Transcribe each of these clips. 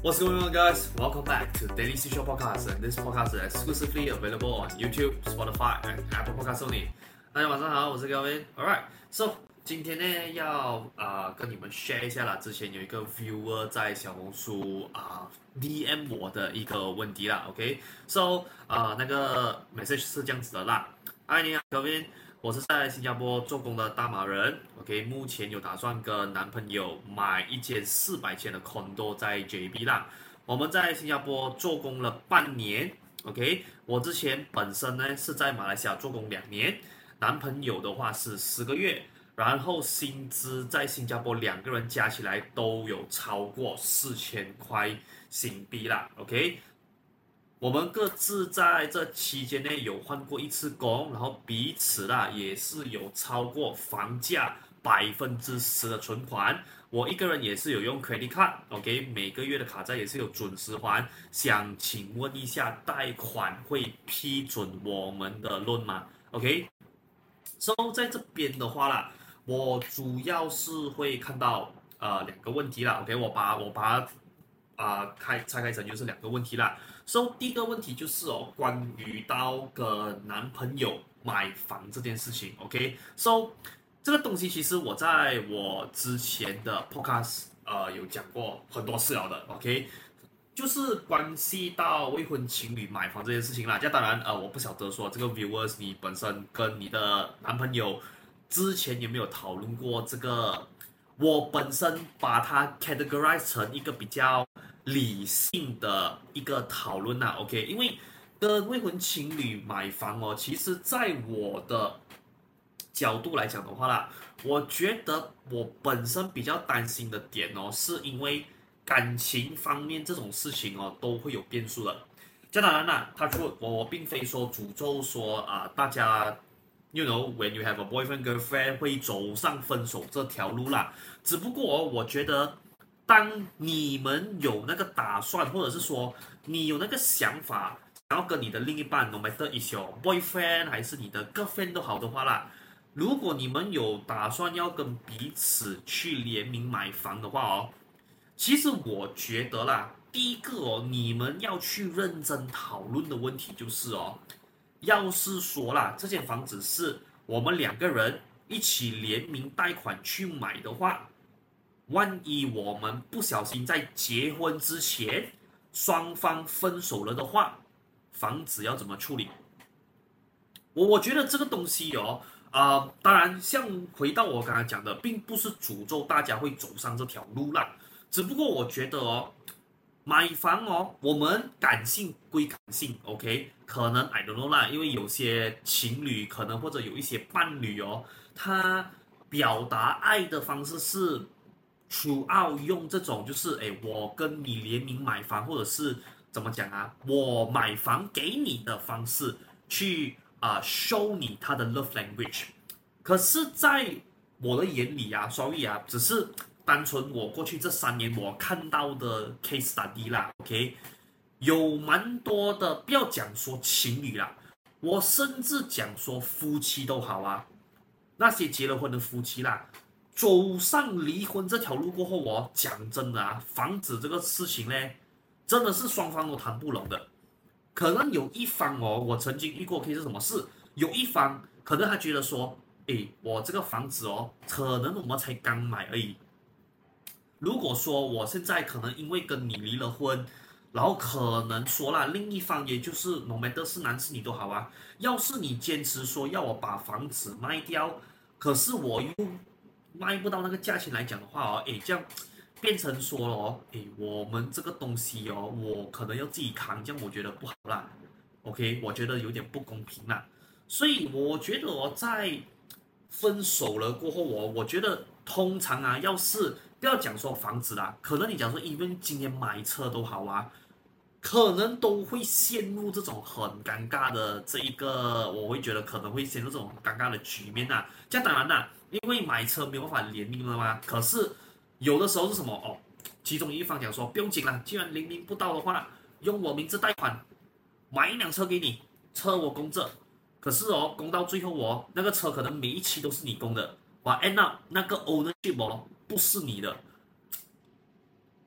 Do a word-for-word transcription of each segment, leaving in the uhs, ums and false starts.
What's going on, guys? Welcome back to Daily Seashore Podcast, and this podcast is exclusively available on YouTube, Spotify, and Apple Podcasts only. 大家晚上好，我是 Kelvin. Alright, so 今天呢要啊、呃、跟你们 share 一下啦。之前有一个 viewer 在小紅書啊、呃、D M 我的一個問題啦 ，OK？So 啊、呃、那個 message 是這樣子的啦。嗨，你好 Kelvin。我是在新加坡做工的大馬人 ，OK， 目前有打算跟男朋友買一間四百千的 condo 在 J B 啦。我們在新加坡做工了半年 ，OK， 我之前本身呢是在馬來西亞做工兩年，男朋友的話是十個月，然後薪資在新加坡兩個人加起來都有超過四千塊新幣啦 ，OK。我們各自在這期間內有換過一次工，然後彼此啦也是有超過房價百分之十的存款。我一個人也是有用 credit card，OK， 每個月的卡債也是有準時還。想請問一下，貸款會批准我們的 loan 嗎 ？OK，So 在這邊的話啦，我主要是會看到呃兩個問題啦。OK，我把我把它啊、呃、開拆開成就是兩個問題啦。So 第一個問題就是哦，關於到跟男朋友買房這件事情 ，OK？So 這個東西其實我在我之前的 podcast 呃有講過很多次了的 ，OK？ 就是關係到未婚情侶買房這件事情啦。這當然呃我不曉得說這個 viewers 你本身跟你的男朋友之前有沒有討論過這個？我本身把它 categorize 成一個比較理性的一個討論啦 ，OK， 因為跟未婚情侶買房哦，其實在我的角度來講的話啦，我覺得我本身比較擔心的點哦，是因為感情方面這種事情哦都會有變數的。這當然啦，他說我我並非說詛咒說啊、呃、大家 ，you know when you have a boyfriend girlfriend 會走上分手這條路啦，只不過、哦、我覺得。當你們有那個打算，或者是說你有那個想法，想要跟你的另一半 ，no matter is your boyfriend 還是你的 girlfriend 都好的話啦，如果你們有打算要跟彼此去聯名買房的話哦，其實我覺得啦，第一個哦，你們要去認真討論的問題就是哦，要是說啦，這間房子是我們兩個人一起聯名貸款去買的話。萬一我們不小心在結婚之前雙方分手了的話，房子要怎麼處理？我我覺得這個東西哦，啊、呃，當然像回到我剛才講的，並不是詛咒大家會走上這條路啦，只不過我覺得哦，買房哦，我們感性歸感性 ，OK， 可能 I don't know 啦，因為有些情侶可能或者有一些伴侶哦，他表達愛的方式是。throughout 用這種就是誒，我跟你聯名買房，或者是怎麼講啊？我買房給你的方式去啊、呃、show 你他的 love language。可是，在我的眼裡啊，sorry啊，只是單純我過去這三年我看到的 case study 啦 ，OK， 有蠻多的，不要講說情侶啦，我甚至講說夫妻都好啊，那些結了婚的夫妻啦。走上離婚這條路過後，我講真的啊，房子這個事情呢，真的是雙方都談不攏的。可能有一方哦，我曾經遇過 case 是什麼事？有一方可能他覺得說，誒，我這個房子哦，可能我們才剛買而已。如果說我現在可能因為跟你離了婚，然後可能說啦，另一方也就是 no matter 是男是女都好啊，要是你堅持說要我把房子賣掉，可是我又賣不到那個價錢來講的話哦，誒，這樣變成說了哦，誒，我們這個東西哦，我可能要自己扛，這樣我覺得不好啦。OK， 我覺得有點不公平啦。所以我覺得哦，在分手了過後哦，我覺得通常啊，要是不要講說房子啦，可能你講說，even今天買車都好啊，可能都會陷入這種很尷尬的這一個，我會覺得可能會陷入這種很尷尬的局面啊。這樣當然啦。因為買車沒有辦法聯名了嘛，可是有的時候是什麼哦？其中一方講說不用緊了，既然聯名不到的話，用我名字貸款買一輛車給你，車我供着。可是哦，供到最後哦，那個車可能每一期都是你供的，哇 ，end up 那個 ownership 哦不是你的，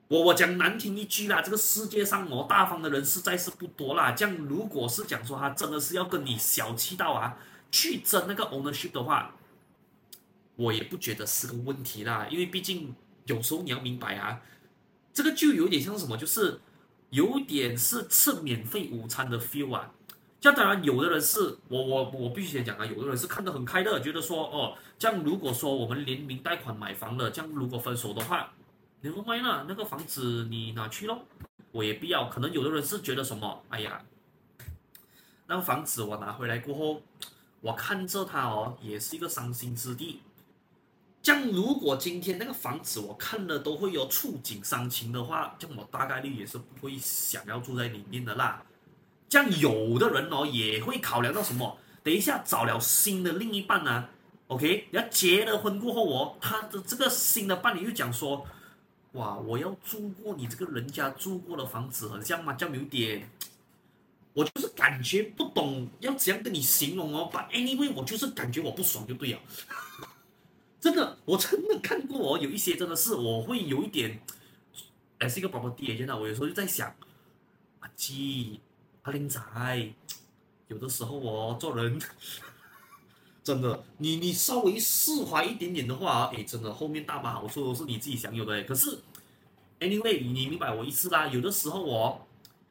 我我講難聽一句啦，這個世界上哦，大方的人實在是不多啦。這樣如果是講說他真的是要跟你小氣到啊，去爭那個 ownership 的話，我也不覺得是個問題啦。因為畢竟有時候你要明白啊，這個就有點像什麼，就是有點是吃免費午餐的 feel 啊。這樣當然，有的人是我我我必須先講啊，有的人是看得很開的，覺得說哦，這樣如果說我們聯名貸款買房了，這樣如果分手的話。你說賣了那個房子你拿去咯，我也不要。可能有的人是覺得什麼，哎呀，那個房子我拿回來過後，我看着它哦，也是一個傷心之地。這樣如果今天那個房子我看了都會有觸景傷情的話，這樣我大概率也是不會想要住在裡面的啦。這樣有的人哦也會考量到什麼，等一下找了新的另一半啊 ，OK， 要結了婚過後哦，他的這個新的伴侶又講說。哇！我要住過你這個人家住過的房子，很像嘛，這樣有點，我就是感覺不懂要怎樣跟你形容哦。But anyway，我就是感覺我不爽就對了。真的，我真的看過哦，有一些真的是我會有一點，哎，是一個 property agent 啊，我有時候就在想，阿基阿玲仔，有的時候哦做人。真的，你你稍微釋懷一點點的話，哎，真的後面大把好處都是你自己享有的。可是 ，anyway，你明白我意思啦？有的時候哦，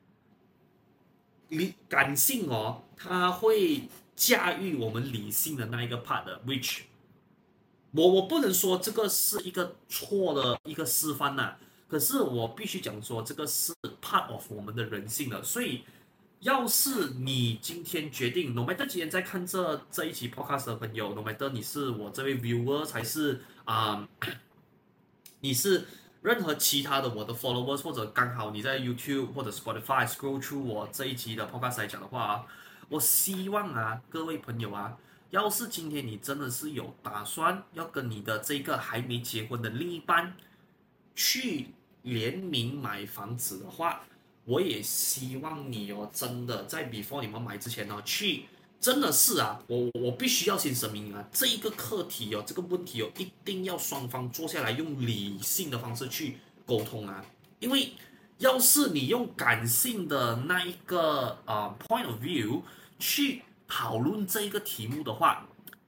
理感性哦，它會駕馭我們理性的那一個 part 的 ，which 我我不能說這個是一個錯的一個示範吶，可是我必須講說這個是 part of 我們的人性的，所以。要是你今天決定 ，no matter 今天在看這這一期 podcast 的朋友 ，no matter 你是我這位 viewer 還是啊、呃，你是任何其他的我的 followers， 或者剛好你在 YouTube 或者 Spotify scroll through 我這一期的 podcast 來講的話，我希望啊各位朋友啊，要是今天你真的是有打算要跟你的這個還沒結婚的另一半去聯名買房子的話。我也希望你哦，真的在 before 你們買之前呢、哦，去真的是啊，我我必須要先聲明啊，這一個課題哦，這個問題哦，一定要雙方坐下來用理性的方式去溝通啊，因為要是你用感性的那一個呃 point of view 去討論這一個題目的話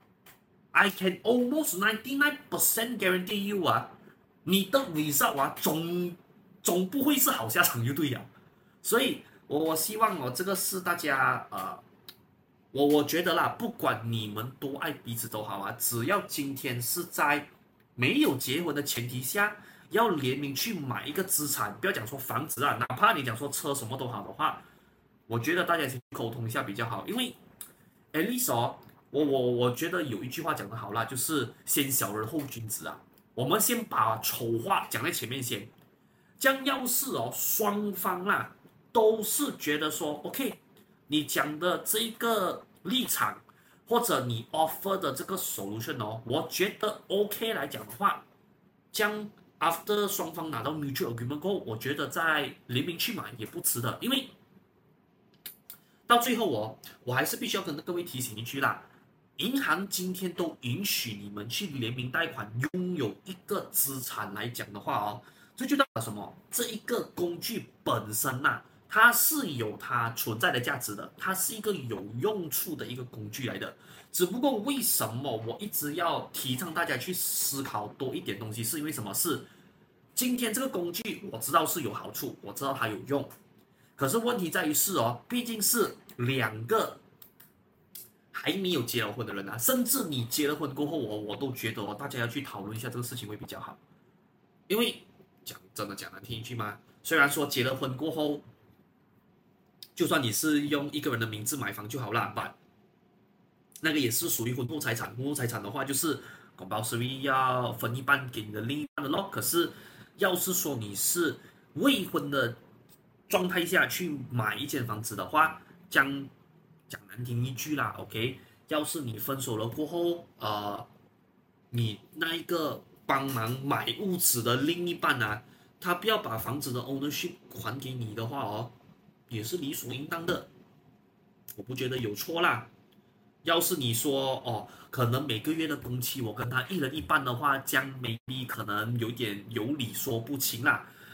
，I can almost ninety-nine percent guarantee you 啊，你的 result 啊，總總不會是好下場就對了。所以我，我我希望哦，這個是大家呃，我我覺得啦，不管你們多愛彼此都好啊，只要今天是在沒有結婚的前提下，要聯名去買一個資產，不要講說房子啊，哪怕你講說車什麼都好的話，我覺得大家先溝通一下比較好，因為 at least 哦，我我我覺得有一句話講得好啦，就是先小人後君子啊，我們先把醜話講在前面先，這樣要是哦雙方啦。都是覺得說 ，OK， 你講的這個立場，或者你 offer 的這個 solution 哦，我覺得 OK 來講的話，將 after 雙方拿到 mutual agreement 過後，我覺得在聯名去買也不遲的，因為到最後哦，我還是必須要跟各位提醒一句啦，銀行今天都允許你們去聯名貸款，擁有一個資產來講的話哦，這就代表什麼？這一個工具本身吶、啊。它是有它存在的價值的，它是一個有用處的一個工具來的。只不過為什麼我一直要提倡大家去思考多一點東西，是因為什麼？是今天這個工具我知道是有好處，我知道它有用，可是問題在於是哦，畢竟是兩個還沒有結了婚的人啊，甚至你結了婚過後，我我都覺得哦，大家要去討論一下這個事情會比較好，因為講真的講難聽一句嘛，雖然說結了婚過後。就算你是用一個人的名字買房就好啦，但那個也是屬於婚後財產。婚後財產的話，就是 compulsory 要分一半給你的另一半的咯。可是，要是說你是未婚的狀態下去買一間房子的話，講講難聽一句啦 ，OK？ 要是你分手了過後，呃，你那一個幫忙買屋子的另一半啊，他不要把房子的 ownership 還給你的話哦。也是理所應當的，我不覺得有錯啦。要是你說哦，可能每個月的工期我跟他一人一半的話，這樣 maybe 可能有點有理說不清啦。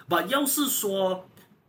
把要是說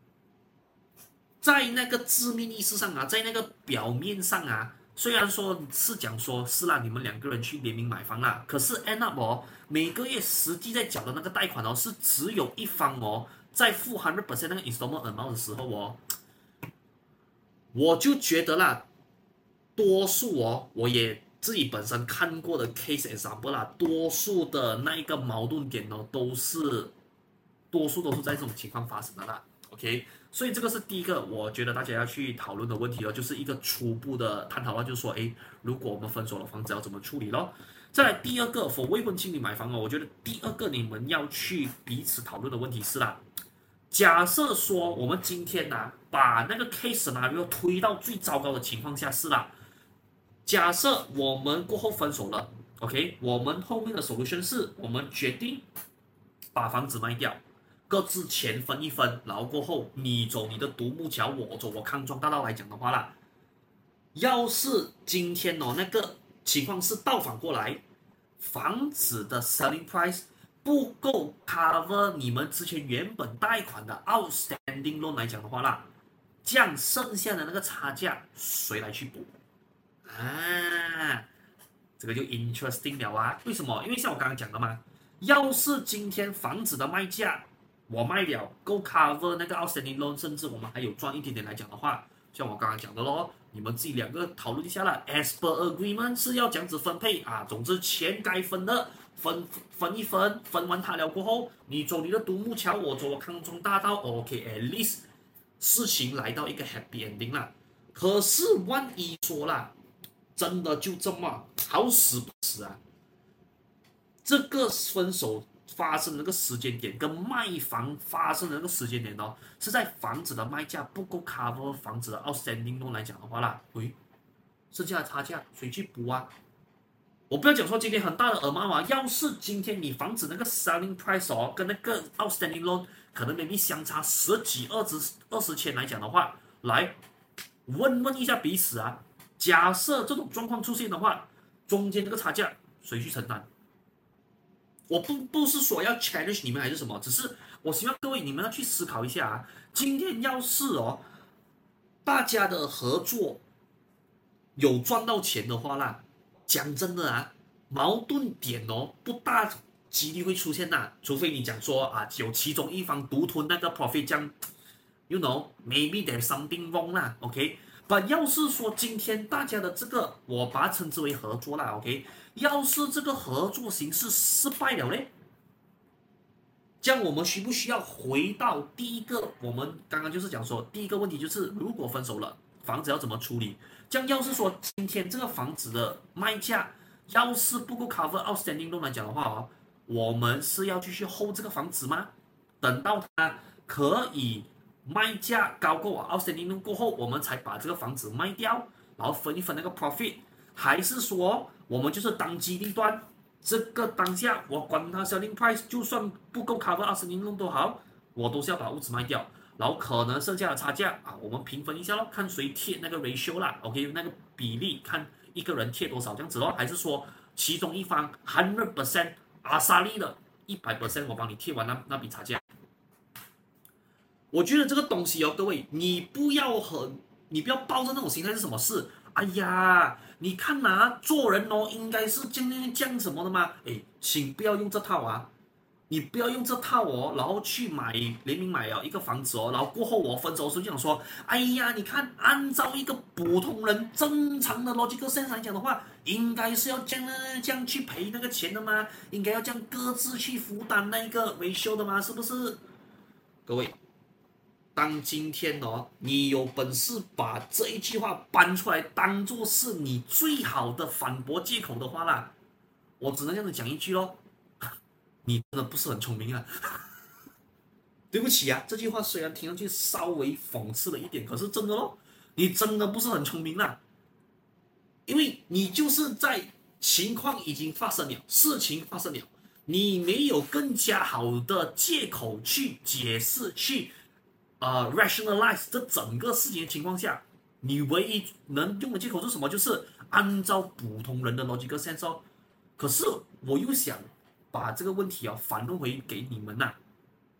在那個字面意思上啊，在那個表面上啊，雖然說是講說是啦，你們兩個人去聯名買房啦，可是 end up 哦，每個月實際在繳的那個貸款哦，是只有一方哦，在付 百分之百 那個 installment amount 的時候哦，我就覺得啦，多數哦，我也自己本身看過的 case example 啦，多數的那一個矛盾點哦，都是多數都是在這種情況發生的啦。OK， 所以這個是第一個，我覺得大家要去討論的問題哦，就是一個初步的探討啊，就是說，誒，如果我們分手了，房子要怎麼處理咯？再來第二個 ，for 未婚情侶買房哦，我覺得第二個你們要去彼此討論的問題是啦，假設說我們今天呢、啊，把那個 case scenario 推到最糟糕的情況下是啦，假設我們過後分手了 ，OK， 我們後面的 solution 是我們決定把房子賣掉。各自錢分一分，然後過後你走你的獨木橋，我走我康莊大道來講的話啦，要是今天哦那個情況是倒反過來，房子的 selling price 不夠 cover 你們之前原本貸款的 outstanding loan 來講的話啦，這樣剩下的那個差價誰來去補啊？這個就 interesting 了啊！為什麼？因為像我剛剛講的嘛，要是今天房子的賣價我賣了夠 cover 那個 outstanding loan， 甚至我們還有賺一點點來講的話，像我剛剛講的咯，你們自己兩個討論一下啦。As per agreement 是要這樣子分配啊，總之錢該分的分分一分，分完它了過後，你走你的獨木橋，我走我康莊大道 ，OK，at least 事情來到一個 happy ending 啦。可是萬一說啦，真的就這麼好死不死啊，這個分手發生的那個時間點跟賣房發生的那個時間點哦，是在房子的賣價不夠 cover 房子的 outstanding loan 來講的話啦，喂，剩下的差價誰去補啊？我不要講說今天很大的耳媽嘛，要是今天你房子那個 selling price 哦，跟那個 outstanding loan 可能 maybe 相差十幾、二十、二十千來講的話，來問問一下彼此啊，假設這種狀況出現的話，中間這個差價誰去承擔？我不不是說要 challenge 你們還是什麼，只是我希望各位你們要去思考一下啊。今天要是哦，大家的合作有賺到錢的話啦，講真的啊，矛盾點哦不大幾率會出現吶，除非你講說啊有其中一方獨吞那個 profit， 這樣 you know maybe there's something wrong 啦 ，OK。但要是說今天大家的這個我把它稱之為合作啦 ，OK。要是這個合作形式失敗了嘞，這樣我們需不需要回到第一個？我們剛剛就是講說，第一個問題就是如果分手了，房子要怎麼處理？這樣要是說今天這個房子的賣價要是不夠 cover outstanding loan來講的話哦，我們是要繼續 hold 這個房子嗎？等到它可以賣價高過 outstanding loan過後，我們才把這個房子賣掉，然後分一分那個 profit， 還是說我們就是當機立斷，這個當下我管它 selling price， 就算不夠 cover outstanding loan都好，我都是要把屋子賣掉，然後可能剩下的差價啊，我們平分一下咯，看誰貼那個 ratio 啦 ，OK， 那個比例看一個人貼多少這樣子咯，還是說其中一方 百分之百 阿薩利的百分之百我幫你貼完那那筆差價。我覺得這個東西哦，各位，你不要很，你不要抱着那種心態是什麼事？哎呀，你看吶、啊，做人哦，應該是這樣這樣什麼的嗎？哎，請不要用這套啊！你不要用這套哦，然後去買聯名買了一個房子哦，然後過後我分手的時候就想說，哎呀，你看，按照一個普通人正常的 logical sense 來講的話，應該是要這樣這樣去賠那個錢的嗎？應該要這樣各自去負擔那個維修的嗎？是不是？各位。當今天哦，你有本事把這一句話搬出來當做是你最好的反駁借口的話啦，我只能這樣子講一句咯，你真的不是很聰明啊！對不起啊，這句話雖然聽上去稍微諷刺了一點，可是真的咯，你真的不是很聰明啦，因為你就是在情況已經發生了，事情發生了，你沒有更加好的借口去解釋去。呃、uh, ，rationalize 這整個事情的情況下，你唯一能用的借口是什麼？就是按照普通人的 logical sense 哦。可是我又想把這個問題哦反問回給你們吶、啊，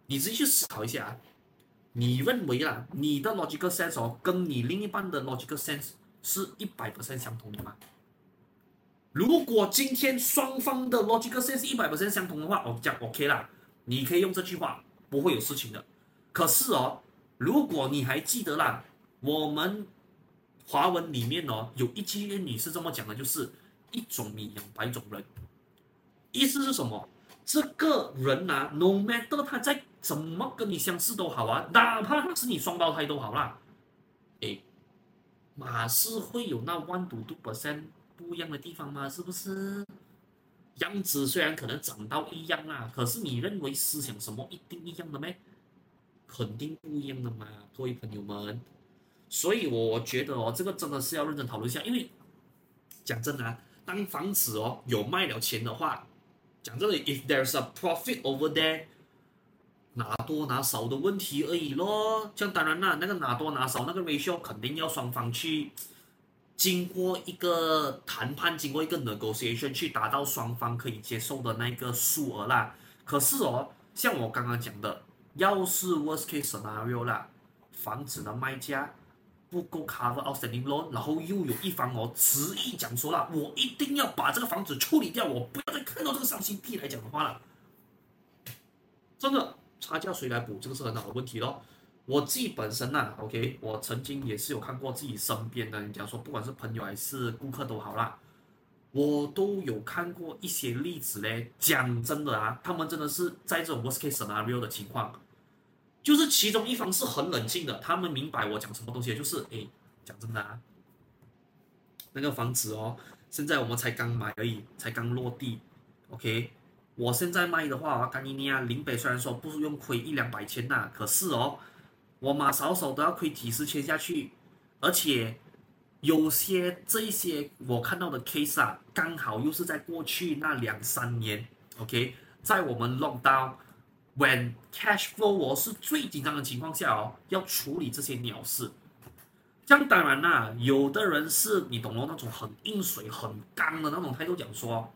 你自己去思考一下啊，你認為啊，你的 logical sense 哦，跟你另一半的 logical sense 是一百 percent 相同的嗎？如果今天雙方的 logical sense 是一百 percent 相同的話，哦，這樣 OK 啦，你可以用這句話，不會有事情的。可是哦，如果你還記得啦，我們華文裡面哦，有一句諺語是這麼講的，就是一種米養百種人。意思是什麼？這個人啊 ，no matter 他在怎麼跟你相似都好啊，哪怕他是你雙胞胎都好啦，誒，馬是會有那 one to two percent 不一樣的地方嗎？是不是？樣子雖然可能長到一樣啦，可是你認為思想什麼一定一樣的咩？肯定不一樣的嘛，各位朋友們。所以我覺得哦，這個真的是要認真討論一下，因為講真的啊，當房子哦有賣了錢的話，講真的 ，if there's a profit over there， 拿多拿少的問題而已咯。這樣當然啦，那個拿多拿少那個 ratio 肯定要雙方去經過一個談判，經過一個 negotiation 去達到雙方可以接受的那個數額啦。可是哦，像我剛剛講的，要是 worst case scenario 啦，房子的賣價不夠 cover outstanding loan， 然後又有一方哦執意講說啦，我一定要把這個房子處理掉，我不要再看到這個傷心地來講的話了。真的，差價誰來補？這個是很好的問題咯。我自己本身啊 ，OK， 我曾經也是有看過自己身邊的人講說，不管是朋友還是顧客都好啦，我都有看過一些例子嘞。講真的啊，他們真的是在這種 worst case scenario 的情況。就是其中一方是很冷靜的，他們明白我講什麼東西，就是誒，講真的啊，那個房子哦，現在我們才剛買而已，才剛落地 ，OK， 我現在賣的話，干你啊，林北雖然說不是用虧一兩百千吶，可是哦，我馬少少都要虧幾十千下去，而且有些這一些我看到的 case 啊，剛好又是在過去那兩三年 ，OK， 在我們 lockdown。When cash flow 我是最緊張的情況下哦，要處理這些鳥事。這樣當然啦，有的人是你懂咯，那種很硬水、很剛的那種態度，講說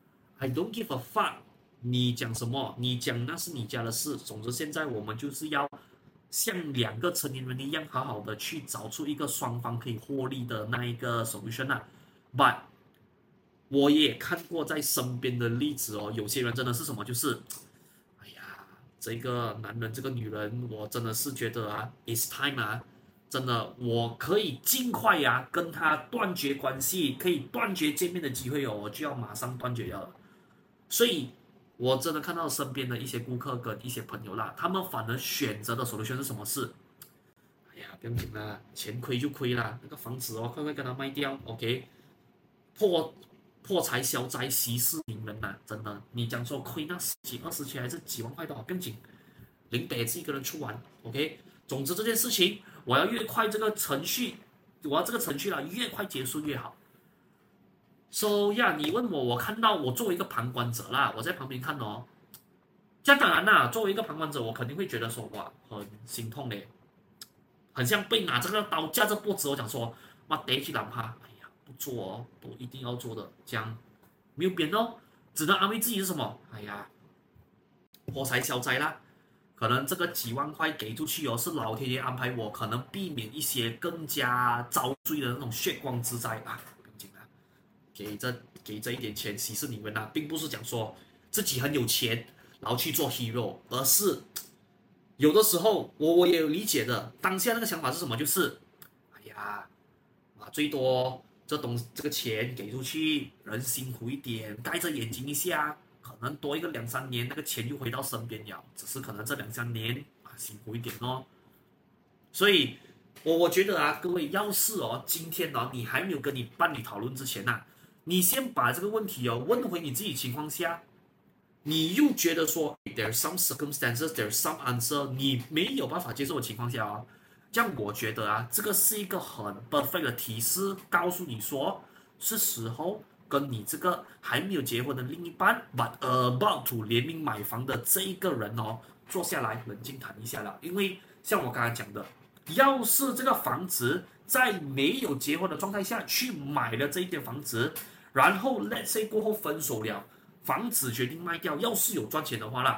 I don't give a fuck， 你講什麼？你講那是你家的事。總之現在我們就是要像兩個成年人一樣，好好的去找出一個雙方可以獲利的那一個 solution 啊。But 我也看過在身邊的例子哦，有些人真的是什麼，就是這個男人，這個女人，我真的是覺得啊 ，it's time 啊，真的，我可以盡快呀、啊、跟他斷絕關係，可以斷絕見面的機會哦，我就要馬上斷絕掉了。所以，我真的看到身邊的一些顧客跟一些朋友啦，他們反而選擇的 solution 是什麼事？哎呀，不用緊啦，錢虧就虧啦，那個房子哦，快快跟他賣掉 ，OK， 破。破財消災息事寧人吶、啊，真的，你講說虧那十幾二十千還是幾萬塊都好，不用緊，林北自己一個人出完 ，OK。總之這件事情，我要越快這個程序，我要這個程序啦，越快結束越好。So 呀，你問我，我看到我作為一個旁觀者啦，我在旁邊看哦。這樣當然啦，作為一個旁觀者，我肯定會覺得說，哇，很心痛嘞，很像被拿這個刀架着脖子，我講說，哇，得去哪怕。不做哦，都一定要做的，這樣沒有變哦，只能安慰自己是什麼？哎呀，破財消災啦，可能這個幾萬塊給出去哦，是老天爺安排我，可能避免一些更加遭罪的那種血光之災啊，不用緊啊，給這給這一點錢息事寧人啊，並不是講說自己很有錢，然後去做 hero， 而是有的時候我我也有理解的，當下那個想法是什麼？就是，哎呀，啊最多。這東這個錢給出去，人辛苦一點，蓋着眼睛一下，可能多一個兩三年，那個錢就回到身邊了。只是可能這兩三年啊辛苦一點哦。所以，我我覺得啊，各位要是哦，今天哦，你還沒有跟你伴侶討論之前吶、啊，你先把這個問題哦問回你自己情況下，你又覺得說 there's some circumstances, there's some answer， 你沒有辦法接受的情況下哦。這樣我覺得啊，這個是一個很 perfect 的提示，告訴你說是時候跟你這個還沒有結婚的另一半 ，but about to 聯名買房的這一個人哦，坐下來冷靜談一下了。因為像我剛才講的，要是這個房子在沒有結婚的狀態下去買了這一間房子，然後 let's say 過後分手了，房子決定賣掉，要是有賺錢的話啦，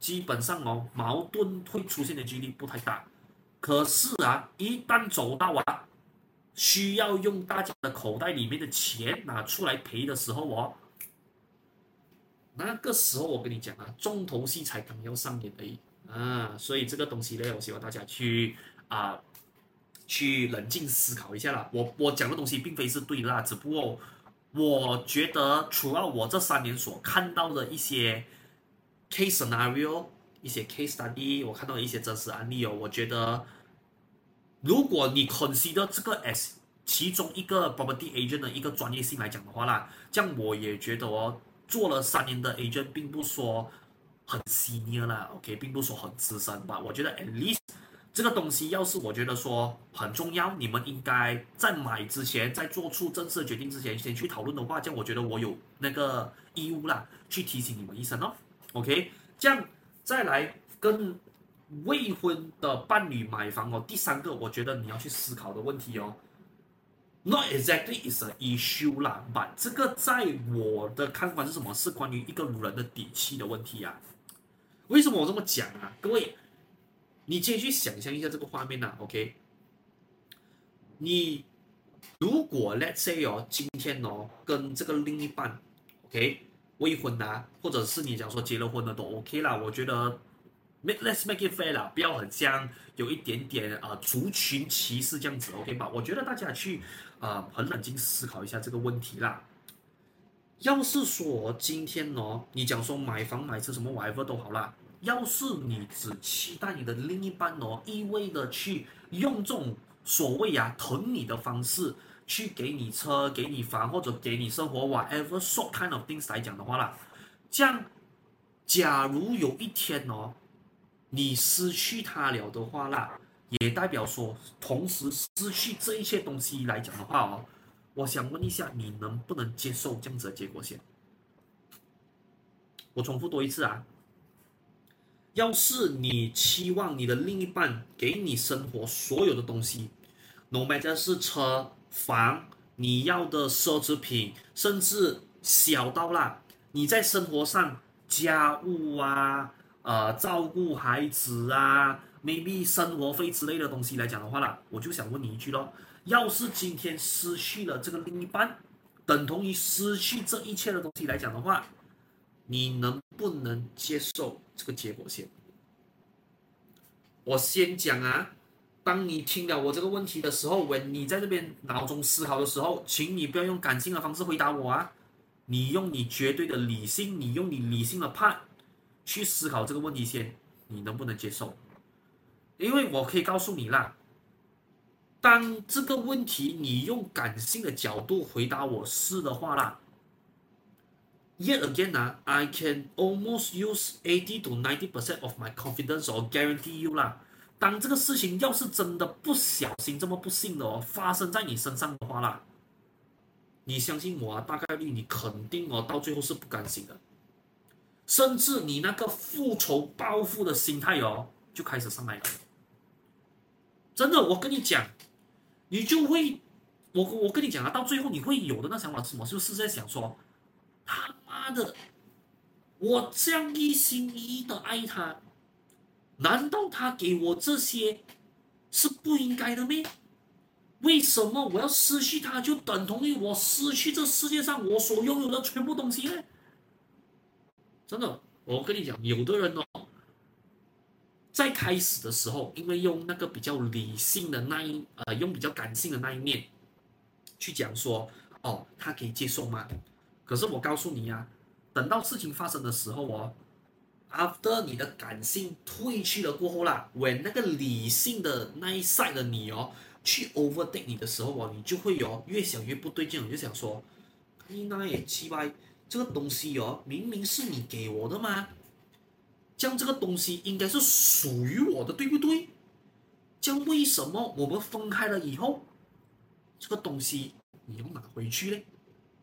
基本上哦，矛盾會出現的幾率不太大。可是啊，一旦走到啊，需要用大家的口袋裡面的錢拿出來賠的時候哦，那個時候我跟你講啊，重頭戲才剛要上演而已啊，所以這個東西呢，我希望大家去啊，去冷靜思考一下啦。我我講的東西並非是對的啦，只不過我覺得，除了我這三年所看到的一些 case scenario， 一些 case study， 我看到的一些真實案例哦，我覺得，如果你 consider 這個 as 其中一個 property agent 的一個專業性來講的話啦，這樣我也覺得哦。做了三年的 agent， 並不說很 senior 啦 ，OK， 並不說很資深吧。我覺得 at least 這個東西，要是我覺得說很重要，你們應該在買之前，在做出正式的決定之前，先去討論的話，這樣我覺得我有那個義務啦，去提醒你們一聲哦 ，OK。這樣再來跟未婚的伴侶買房哦，第三個我覺得你要去思考的問題哦。Not exactly is an issue 啦 ，but 這個在我的看法是什麼？是關於一個人的底氣的問題啊。為什麼我這麼講啊？各位，你先去想象一下這個畫面啊 ，OK？ 你如果 let's say 哦，今天哦跟這個另一半 ，OK， 未婚啊，或者是你講說結了婚的都 OK 啦，我覺得。Let's make it fair 啦，不要很像有一點點啊、呃、族群歧視這樣子 ，OK 吧？我覺得大家去啊、呃、很冷靜思考一下這個問題啦。要是說今天哦，你講說買房買車什麼 whatever 都好啦，要是你只期待你的另一半哦，一味的去用這種所謂啊疼你的方式去給你車、給你房或者給你生活 whatever sort kind of things 來講的話啦，這樣假如有一天哦。你失去他了的話啦，也代表說，同時失去這一切東西來講的話哦，我想問一下，你能不能接受這樣子的結果先？我重複多一次啊，要是你期望你的另一半給你生活所有的東西 ，no matter 是車、房，你要的奢侈品，甚至小到啦，你在生活上家務啊。呃，照顧孩子啊 ，maybe 生活費之類的東西來講的話啦，我就想問你一句咯，要是今天失去了這個另一半，等同於失去這一切的東西來講的話，你能不能接受這個結果先？我先講啊，當你聽了我這個問題的時候，when 你在這邊腦中思考的時候，請你不要用感性的方式回答我啊，你用你絕對的理性，你用你理性的 part。去思考這個問題先，你能不能接受？因為我可以告訴你啦，當這個問題你用感性的角度回答我是的話啦 ，yet again 啊 ，I can almost use eighty to ninety percent of my confidence or guarantee you 啦。當這個事情要是真的不小心這麼不幸的哦發生在你身上的話啦，你相信我啊，大概率你肯定哦到最後是不甘心的。甚至你那個復仇報復的心態哦，就開始上來了。真的，我跟你講，你就會，我我跟你講啊，到最後你會有的那想法是什麼？就是在想說，他媽的，我這樣一心一意的愛他，難道他給我這些是不應該的咩？為什麼我要失去他，就等同於我失去這世界上我所擁有的全部東西呢？真的，我跟你講，有的人哦，在開始的時候，因為用那個比較理性的那一呃，用比較感性的那一面去講說，哦，他可以接受嗎？可是我告訴你啊，等到事情發生的時候哦 ，after 你的感性退去了過後啦 ，when 那個理性的那一 side 的你哦，去 overtake 你的時候哦，你就會有越想越不對勁，你就想說，你那也奇怪。這個東西哦，明明是你給我的嘛，這樣這個東西應該是屬於我的，對不對？這樣為什麼我們分開了以後，這個東西你要拿回去呢？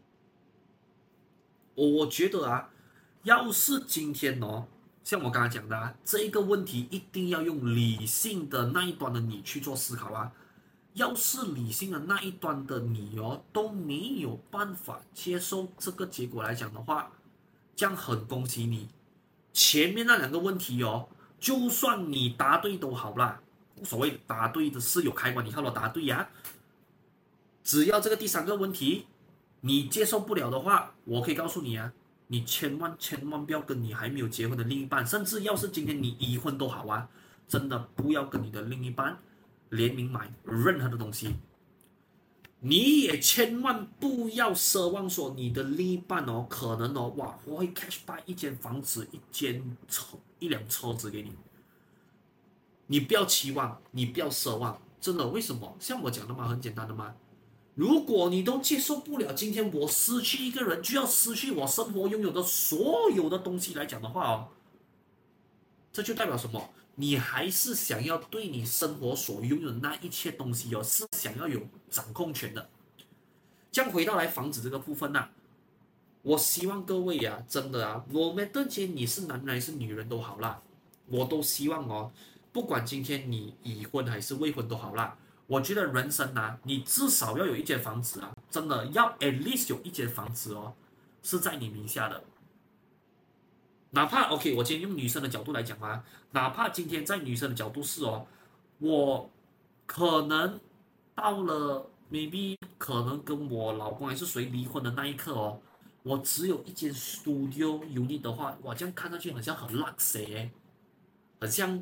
我覺得啊，要是今天哦，像我剛才講的啊，這一個問題一定要用理性的那一端的你去做思考啊。要是理性的那一端的你哦都沒有辦法接受這個結果來講的話，這樣很恭喜你， 前面那兩個問題哦，就算你答對都好啦，所謂答對的是有開關，你看我答對呀、啊。只要這個第三個問題你接受不了的話，我可以告訴你啊，你千萬千萬不要跟你還沒有結婚的另一半，甚至要是今天你已婚都好啊，真的不要跟你的另一半聯名買任何的東西。你也千萬不要奢望說你的另一半哦，可能哦，哇，我會 cash buy 一間房子、一間車、一輛車子給你。你不要期望，你不要奢望，真的，為什麼？像我講的嘛，很簡單的嘛。如果你都接受不了，今天我失去一個人，就要失去我生活擁有的所有的東西來講的話哦，這就代表什麼？你還是想要對你生活所擁有的那一切東西哦，是想要有掌控權的。這樣回到來房子這個部分吶、啊，我希望各位啊，真的啊，我們今天你是男人還是女人都好啦，我都希望哦，不管今天你已婚還是未婚都好啦，我覺得人生啊，你至少要有一間房子啊，真的要 at least 有一間房子哦，是在你名下的。哪怕 OK， 我今天用女生的角度來講啊，哪怕今天在女生的角度是哦，我可能到了 maybe 可能跟我老公還是誰離婚的那一刻哦，我只有一間 studio unit 的話，哇，這樣看上去好像很 luxury， 很像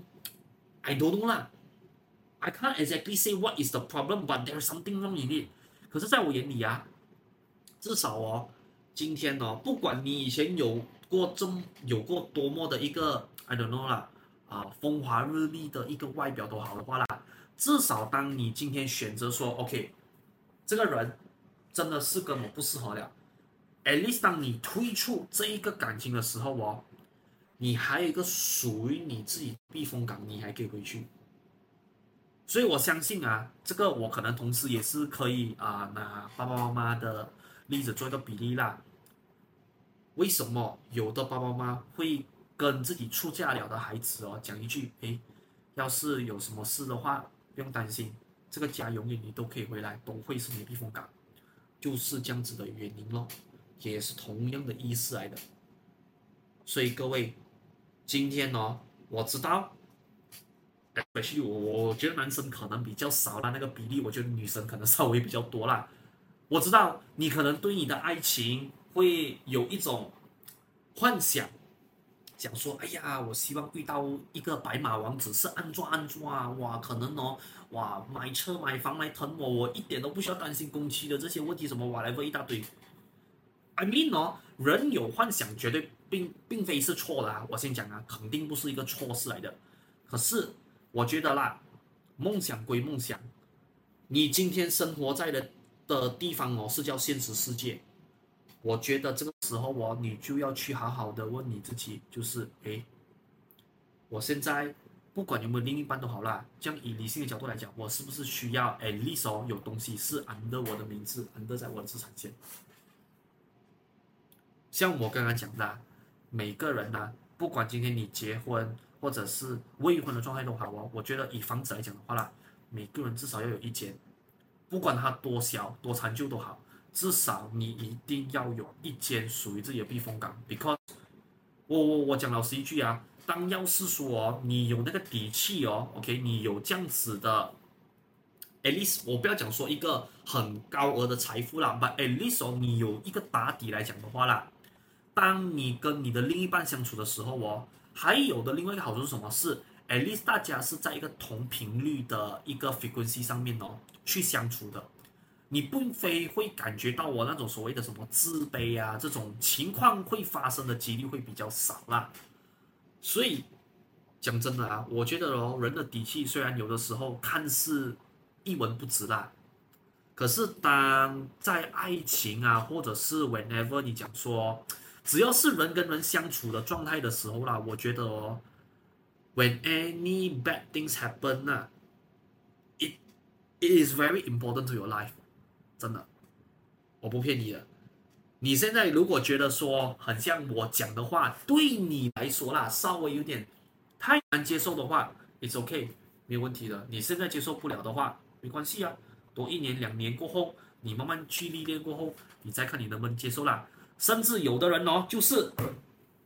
I don't know 啦 ，I can't exactly say what is the problem，but there is something wrong in it。可是在我眼裡啊，至少哦，今天哦，不管你以前有過這有過多麼的一個 I don't know 啦啊風華日麗的一個外表都好的話啦，至少當你今天選擇說 OK， 這個人真的是跟我不適合了 ，at least 當你退出這一個感情的時候哦，你還有一個屬於你自己避風港，你還可以回去。所以我相信啊，這個我可能同時也是可以啊拿爸爸媽媽的例子做一個比例啦。為什麼有的爸爸媽媽會跟自己出嫁了的孩子哦講一句，誒，要是有什麼事的話，不用擔心，這個家永遠你都可以回來，都會是你的避風港，就是這樣子的原因咯，也是同樣的意思來的。所以各位，今天哦，我知道，especially我我覺得男生可能比較少啦，那個比例，我覺得女生可能稍微比較多啦。我知道你可能對你的愛情會有一種幻想，想說，哎呀，我希望遇到一個白馬王子，是安裝安裝啊，哇，可能哦，哇，買車買房來疼我，我一點都不需要擔心工期的這些問題，什麼 whatever 一大堆。I mean 哦，人有幻想絕對並並非是錯的啊，我先講啊，肯定不是一個錯事來的。可是我覺得啦，夢想歸夢想，你今天生活在的的地方哦，是叫現實世界。我覺得這個時候哦，你就要去好好的問你自己，就是誒，我現在不管有沒有另一半都好啦，這樣以理性的角度來講，我是不是需要 at least 哦，有東西是 under 我的名字 ，under 在我的資產線。像我剛剛講的，每個人呢、啊，不管今天你結婚或者是未婚的狀態都好哦，我覺得以房子來講的話啦，每個人至少要有一間，不管它多小多殘舊都好。至少你一定要有一間屬於自己的避風港 ，because 我我我講老實一句啊，當要是說哦，你有那個底氣哦 ，OK， 你有這樣子的 ，at least 我不要講說一個很高額的財富啦 ，but at least 哦，你有一個打底來講的話啦，當你跟你的另一半相處的時候哦，還有的另外一個好處是什麼？是 at least 大家是在一個同頻率的一個 frequency 上面哦去相處的。你並非會感覺到我那種所謂的什麼自卑啊，這種情況會發生的幾率會比較少啦。所以講真的啊，我覺得哦，人的底氣雖然有的時候看似一文不值啦，可是當在愛情啊，或者是 whenever 你講說，只要是人跟人相處的狀態的時候啦，我覺得哦 ，when any bad things happen 啊，it it is very important to your life。真的，我不騙你的。你現在如果覺得說很像我講的話，對你來說啦，稍微有點太難接受的話 ，it's okay， 沒有問題的。你現在接受不了的話，沒關係啊，多一年兩年過後，你慢慢去歷練過後，你再看你能不能接受啦。甚至有的人哦，就是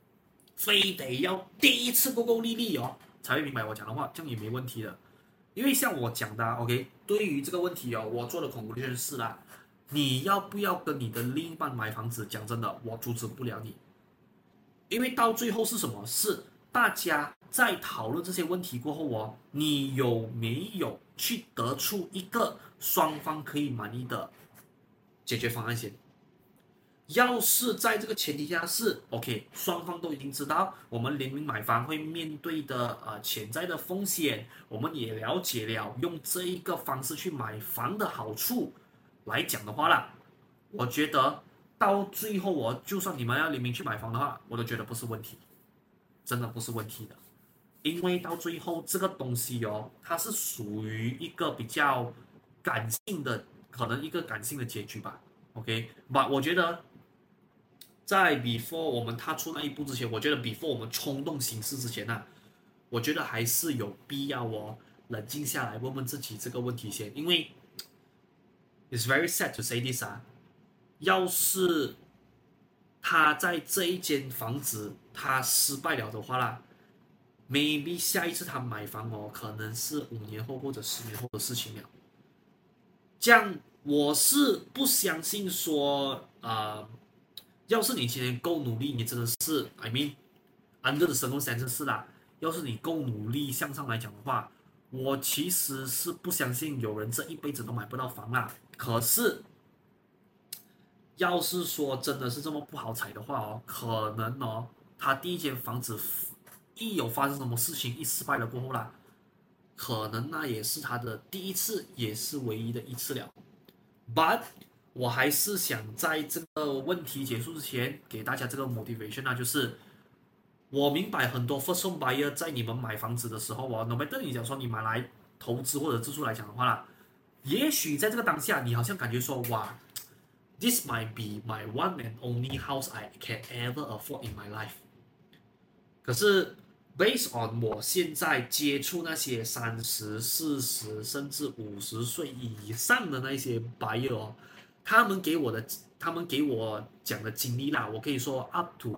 非得要第一次夠夠利利哦，才會明白我講的話，這樣也沒問題的。因為像我講的、啊、，OK， 對於這個問題哦，我做的 conclusion 是啦，你要不要跟你的另一半買房子？講真的，我阻止不了你，因為到最後是什麼？是大家在討論這些問題過後哦，你有沒有去得出一個雙方可以滿意的解決方案先？要是在這個前提下是 OK， 雙方都已經知道我們聯名買房會面對的呃潛在的風險，我們也了解了用這一個方式去買房的好處來講的話啦，我覺得到最後哦，就算你們要聯名去買房的話，我都覺得不是問題，真的不是問題的，因為到最後這個東西哦，它是屬於一個比較感性的，可能一個感性的結局吧。OK， but 我覺得。在 before 我們踏出那一步之前，我覺得 before 我們衝動行事之前呢、啊，我覺得還是有必要哦，冷靜下來問問自己這個問題先，因為 it's very sad to say this 啊，要是他在這一間房子他失敗了的話啦 ，maybe 下一次他買房哦，可能是五年後或者十年後的事情了。這樣我是不相信說啊。呃要是你今天夠努力，你真的是 I mean under the circumstances 是啦。要是你夠努力向上來講的話，我其實是不相信有人這一輩子都買不到房啦。可是，要是說真的是這麼不好踩的話哦，可能哦，他第一間房子一有發生什麼事情，一失敗了過後啦，可能那也是他的第一次，也是唯一的一次了。But我還是想在這個問題結束之前，給大家這個 motivation 啊，就是我明白很多 first home buyer 在你們買房子的時候哦 no matter 你講說你買來投資或者自住來講的話啦，也許在這個當下，你好像感覺說哇 ，this might be my one and only house I can ever afford in my life。可是 based on 我現在接觸那些三十、四十甚至五十歲以上的那些 buyer 哦。他們給我的，他們給我講的經歷啦，我可以說 up to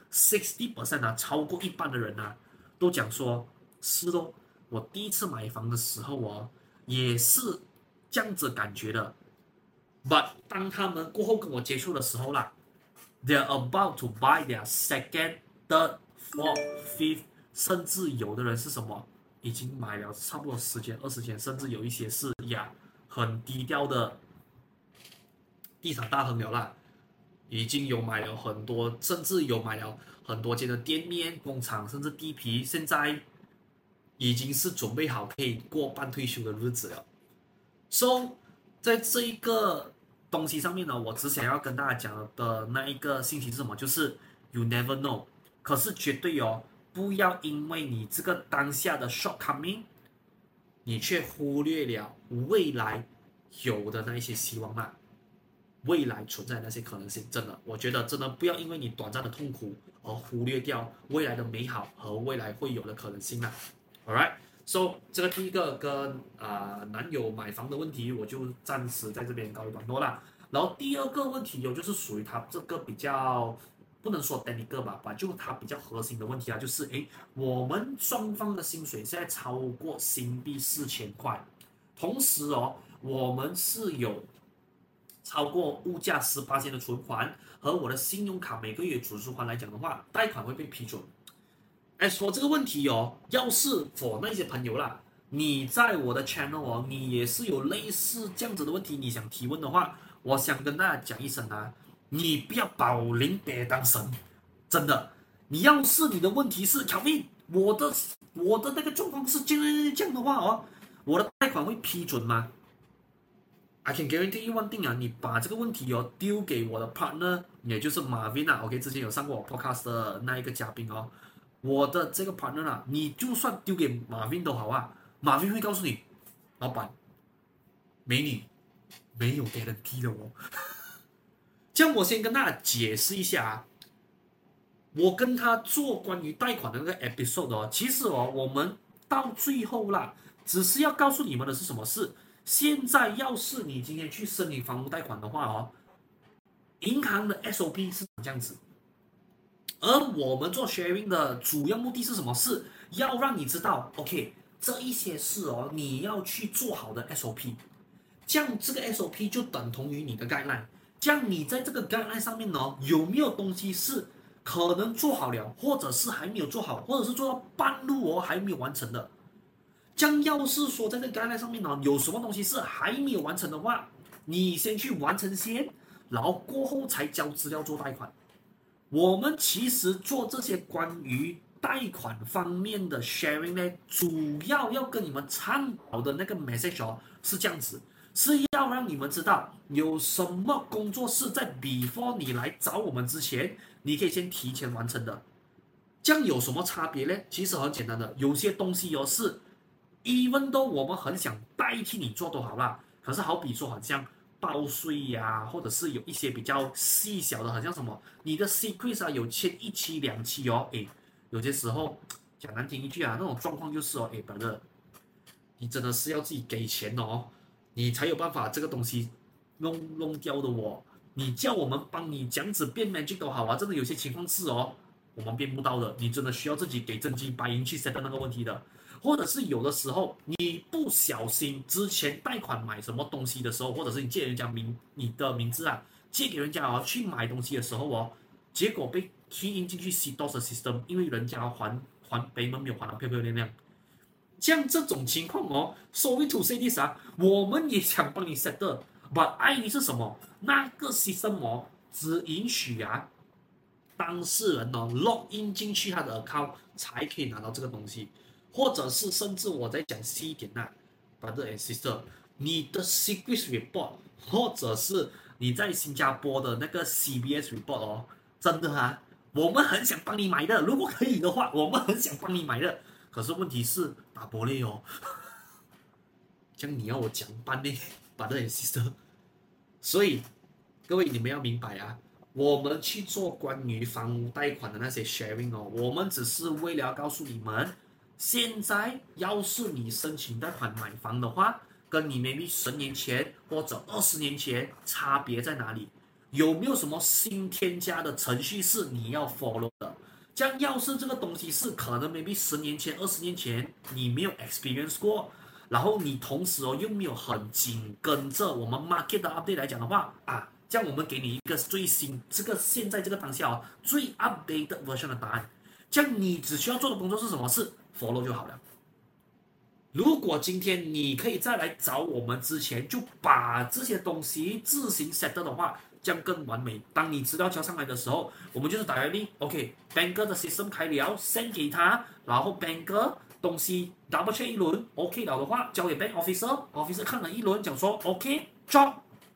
sixty percent 啊，超過一半的人啊，都講說是咯，我第一次買房的時候哦，也是這樣子感覺的。But 當他們過後跟我接觸的時候啦 ，they're about to buy their second, third, fourth, fifth， 甚至有的人是什麼，已經買了差不多十間、二十間，甚至有一些是呀，很低調的。地產大亨了啦，已經有買了很多，甚至有買了很多間的店面、工廠，甚至地皮，現在已經是準備好可以過半退休的日子了。So， 在這一個東西上面呢，我只想要跟大家講的那一個信息是什麼？就是 you never know， 可是絕對哦，不要因為你這個當下的 shortcoming， 你卻忽略了未來有的那一些希望啦。未來存在的那些可能性，真的，我覺得真的不要因為你短暫的痛苦而忽略掉未來的美好和未來會有的可能性啦。Alright， so 這個第一個跟啊、呃、男友買房的問題，我就暫時在這邊告一段落啦。然後第二個問題有就是屬於他這個比較不能說 technical 吧，吧就他比較核心的問題啊，就是誒，我們雙方的薪水現在超過新幣四千塊，同時哦，我們是有超過物價十八千的存款和我的信用卡每個月準時還來講的話，貸款會被批准。As for 這個問題哦，要是 for 那些朋友啦，你在我的 channel 哦，你也是有類似這樣子的問題，你想提問的話，我想跟大家講一聲啊，你不要保齡別當神，真的，你要是你的問題是 Kelvin， 我的我的那個狀況是這樣這樣的話哦，我的貸款會批准嗎？I can guarantee you one thing 啊，你把這個問題哦丟給我的 partner， 也就是 Marvin 啊 ，OK， 之前有上過我 podcast 的那一個嘉賓哦，我的這個 partner 啊，你就算丟給 Marvin 都好啊 ，Marvin 會告訴你，老闆，美女沒有 guarantee 的哦。這樣我先跟大家解釋一下啊，我跟他做關於貸款的那個 episode 哦，其實哦，我們到最後啦，只是要告訴你們的是什麼事。現在要是你今天去申請房屋貸款的話哦，銀行的 S O P 是這樣子。 而我們做 sharing 的主要目的是什麼？是要讓你知道 ，OK， 這一些事哦，你要去做好的 S O P， 這樣這個 S O P 就等同於你的 guideline。這樣你在這個 guideline 上面呢，有沒有東西是可能做好了，或者是還沒有做好，或者是做到半路哦還沒有完成的？這樣要是說在這個 guideline 上面呢，有什麼東西是還沒有完成的話，你先去完成先，然後過後才交資料做貸款。我們其實做這些關於貸款方面的 sharing 呢，主要要跟你們倡導的那個 message 哦，是這樣子，是要讓你們知道有什麼工作是在 before 你來找我們之前，你可以先提前完成的。這樣有什麼差別呢？其實很簡單的，有些東西哦是 even though 我們很想代替你做都好啦，可是好比說好像報稅呀、啊，或者是有一些比較細小的，好像什麼你的 secret 啊有欠一期兩期哦，誒，有些時候講難聽一句啊，那種狀況就是哦，誒，brother，你真的是要自己給錢哦，你才有辦法這個東西弄弄掉的哦。你叫我們幫你這樣子變 magic 都好啊，真的有些情況是哦，我們變不到的，你真的需要自己給真金白銀去 set 那個問題的。或者是有的時候你不小心之前貸款買什麼東西的時候，或者是你借人家名你的名字啊，借給人家哦去買東西的時候哦，結果被 key in 進去 C D O S 的 system， 因為人家還還 payment 沒有還得漂漂亮亮。像這種情況哦 ，sorry to say this 啊，我們也想幫你 set 的 ，but 愛你是什麼？那個 system 哦，只允許啊當事人哦 log in 進去他的 account 才可以拿到這個東西。或者是甚至我再講細一點吶、啊、，brother and sister， 你的 secret report， 或者是你在新加坡的那個 C B S report 哦，真的啊，我們很想幫你買的，如果可以的話，我們很想幫你買的。可是問題是打玻璃哦，這樣你要我講辦呢 ，brother and sister。所以各位你們要明白啊，我們去做關於房屋貸款的那些 sharing 哦，我們只是為了要告訴你們。現在要是你申請貸款買房的話，跟你 maybe 十年前或者二十年前差別在哪裡？有沒有什麼新添加的程序是你要 follow 的？這樣要是這個東西是可能 maybe 十年前、二十年前你沒有 experience 過，然後你同時哦又沒有很緊跟着我們 market 的 update 來講的話啊，這樣我們給你一個最新這個現在這個當下哦最 updated version 的答案。這樣你只需要做的工作是什麼？是 follow 就好了。如果今天你可以再來找我們之前就把這些東西自行 set 的話，這樣更完美。當你資料交上來的時候，我們就是打個例 ，OK，banker 的 system 開了 ，send 給他，然後 banker 東西 double check 一輪 ，OK 了的話，交給 bank officer，officer 看了一輪，講說 OK，job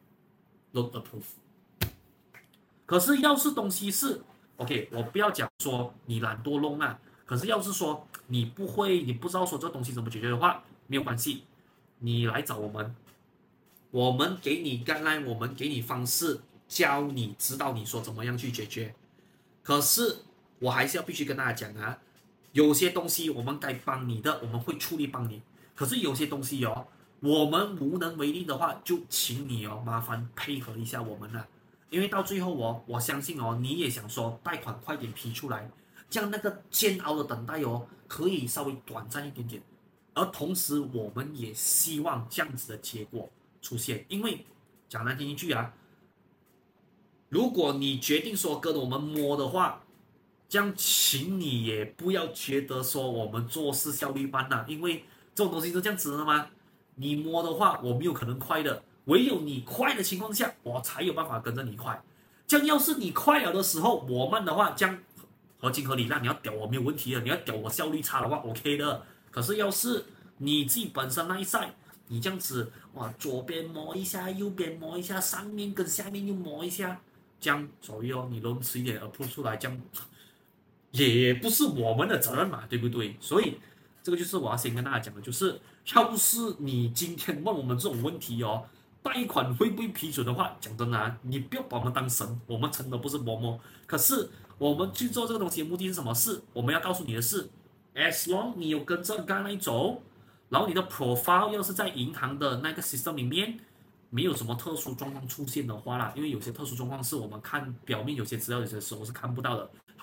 loan approve。可是要是東西是 OK， 我不要講說你懶惰弄啊。可是要是說你不會，你不知道說這東西怎麼解決的話，沒有關係，你來找我們，我們給你 guideline，我們給你方式，教你知道你說怎麼樣去解決。可是我還是要必須跟大家講啊，有些東西我們該幫你的，我們會出力幫你。可是有些東西哦，我們無能為力的話，就請你哦，麻煩配合一下我們了。因為到最後哦，我相信哦，你也想說貸款快點批出來。這樣那個煎熬的等待哦，可以稍微短暫一點點，而同時我們也希望這樣子的結果出現。因為講難聽一句啊，如果你決定說跟我們摸的話，這樣請你也不要覺得說我們做事效率慢吶，因為這種東西是這樣子的嘛。你摸的話，我沒有可能快的，唯有你快的情況下，我才有辦法跟着你快。這樣要是你快了的時候，我慢的話，這樣。合情合理，那你要屌我沒有問題的，你要屌我效率差的話 ，OK 的。可是要是你自己本身那一 side，你這樣子哇，左邊摸一下，右邊摸一下，上面跟下面又摸一下，這樣所以哦，你弄遲一點 approve 出來，這樣也不是我們的責任嘛，對不對？所以這個就是我要先跟大家講的，就是要是你今天問我們這種問題哦，貸款會不會批准的話，講真的啊，你不要把我們當神，我們真的不是嬤嬤。可是我們去做這個東西的目的是什麼？是我們要告訴你的是 ，as long 你有跟着剛來走，然後你的 profile 要是在銀行的那個 system 裡面沒有什麼特殊狀況出現的話啦，因為有些特殊狀況是我們看表面有些資料有些時候是看不到的。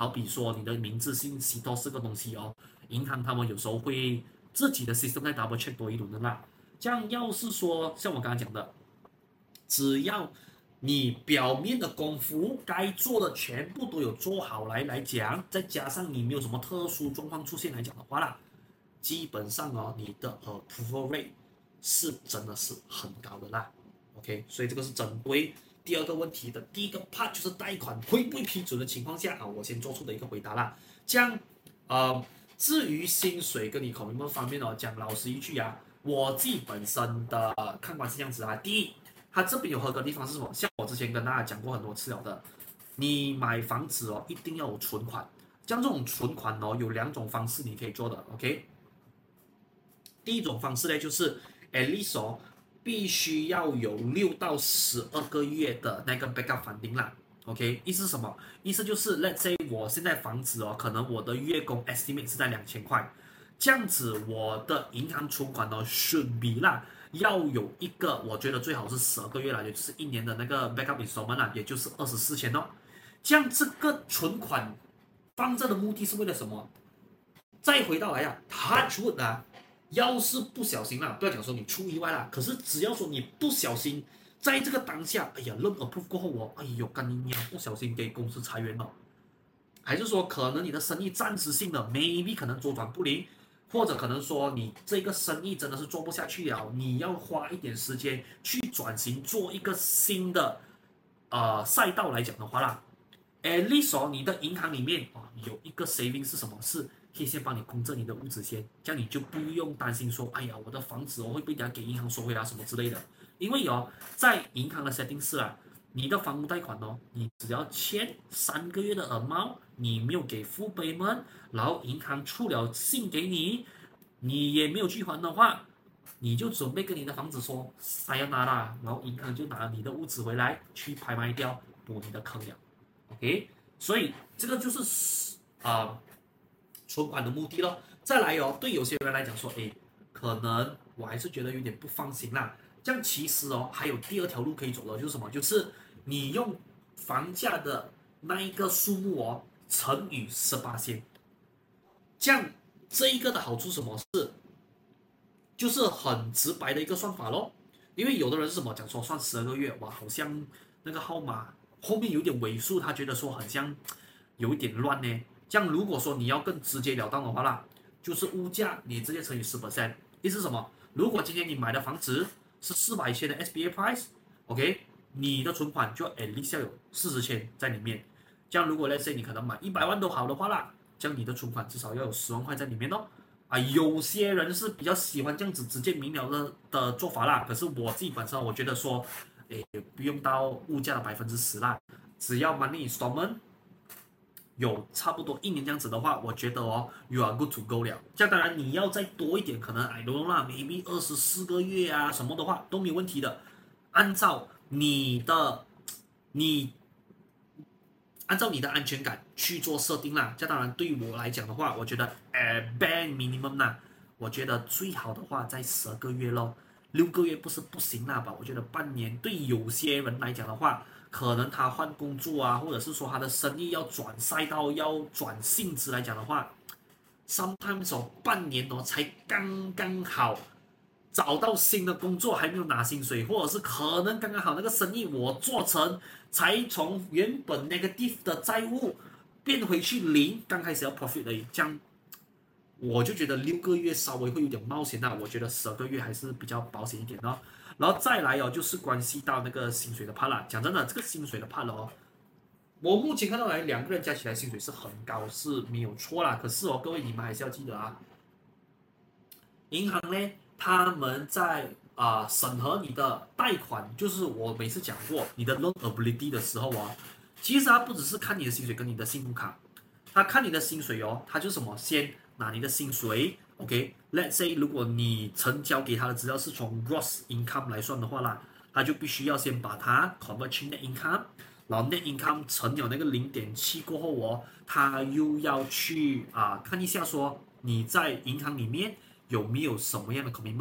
好比說你的名字信息多四個東西哦，銀行他們有時候會自己的 system 再 double check 多一輪的啦。這樣要是說像我剛剛講的，只要你表面的功夫該做的全部都有做好來來講，再加上你沒有什麼特殊狀況出現來講的話啦，基本上哦，你的 approval rate 是真的是很高的啦。OK， 所以這個是針對第二個問題的第一個 part， 就是貸款會不會批准的情況下啊，我先做出的一個回答啦。這樣，呃，至於薪水跟你 commitment 方面哦，講老實一句啊，我自己本身的看法是這樣子啊。第一，它這邊有合格的地方是什麼？像我之前跟大家講過很多次了的，你買房子哦，一定要有存款。像這種存款哦，有兩種方式你可以做的。OK， 第一種方式呢，就是 at least 哦，必須要有六到十二個月的那個 backup funding 啦。OK， 意思是什麼？意思就是 let's say 我現在房子哦，可能我的月供 estimate 是在兩千塊，這樣子我的銀行存款哦 should be 啦，要有一個我覺得最好是十二個月啦，也就是一年的那個 backup installment 啦，也就是二十四千哦。這樣這個存款放這的目的是為了什麼？再回到來啊 ，touch wood 啊，要是不小心啦，不要講說你出意外啦，可是只要說你不小心。在這個當下，哎呀 ，loan approve 過後哦，哎呦，幹你娘，不小心給公司裁員了，還是說可能你的生意暫時性的 maybe 可能周轉不靈，或者可能說你這個生意真的是做不下去了，你要花一點時間去轉型做一個新的呃賽道來講的話啦 ，at least 哦，你的銀行裡面啊、哦、有一個 saving 是什麼？是可以先幫你供着你的物資先，這樣你就不用擔心說，哎呀，我的房子我會被人家給銀行收回啊什麼之類的。因為哦，在銀行的 setting 是啊，你的房屋貸款哦，你只要欠三個月的 amount，你沒有給 full payment，然後銀行出了信給你，你也沒有去還的話，你就準備跟你的房子說 sayonara，然後銀行就拿你的屋子回來去拍賣掉，補你的坑了。OK， 所以這個就是啊、呃、存款的目的咯。再來哦，對有些人來講說，誒，可能我還是覺得有點不放心啦。這樣其實哦，還有第二條路可以走的，就是什麼？就是你用房價的那一個數目哦，乘以十八仙。這樣這一個的好處什麼是？就是很直白的一個算法咯。因為有的人是什麼講說算十二個月，哇，好像那個號碼後面有點尾數，他覺得說很像有一點亂呢。這樣如果說你要更直截了當的話啦，就是物價你直接乘以十 percent， 意思是什麼？如果今天你買的房子是四百千的 S B A price，OK， 你的存款就 at least 要有四十千在裡面。這樣如果 let's say 你可能買一百萬都好的話啦，這樣你的存款至少要有十萬塊在裡面哦。啊，有些人是比較喜歡這樣子直接明了的的做法啦。可是我自己本身我覺得說，誒，不用到物價的百分之十啦，只要 monthly installment有差不多一年這樣子的話，我覺得哦 ，you are good to go 了。這樣當然你要再多一點，可能 I don't know 啦 ，maybe 二十四個月啊什麼的話都沒有問題的。按照你的你按照你的安全感去做設定啦。這樣當然對於我來講的話，我覺得呃 bare minimum 啦，我覺得最好的話在十二個月咯，六個月不是不行啦吧？我覺得半年對有些人來講的話。可能他換工作啊，或者是說他的生意要轉賽道、要轉性質來講的話 ，sometimes 哦半年哦才剛剛好找到新的工作，還沒有拿薪水，或者是可能剛剛好那個生意我做成，才從原本 negative 的債務變回去零，剛開始要 profit 而已，這樣我就覺得六個月稍微會有點冒險啦，我覺得十二個月還是比較保險一點的。然後再來哦，就是關係到那個薪水的 part 啦。講真的，這個薪水的 part 哦，我目前看到來兩個人加起來薪水是很高，是沒有錯啦。可是哦，各位你們還是要記得啊，銀行呢，他們在啊、呃、審核你的貸款，就是我每次講過你的 loan ability 的時候啊，其實他不只是看你的薪水跟你的信用卡，他看你的薪水哦，他就什麼先拿你的薪水。OK，let's say 如果你成交給他的資料是從 gross income 來算的話啦，他就必須要先把它 convert 去 net income， 然後 net income 乘了那個零點七過後哦，他又要去啊看一下說你在銀行裡面有沒有什麼樣的 commitment 啊？